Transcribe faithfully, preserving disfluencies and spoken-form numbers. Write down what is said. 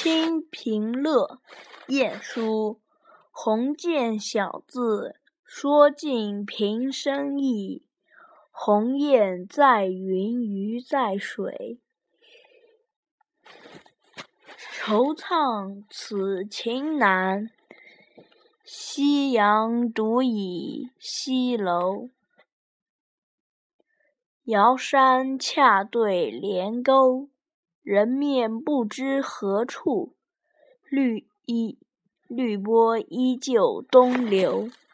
清平乐，晏殊。鸿渐小字，说尽平生意。鸿雁在云，鱼在水。惆怅此情难，夕阳独倚西楼。遥山恰对连沟，人面不知何处。绿衣绿波依旧东流。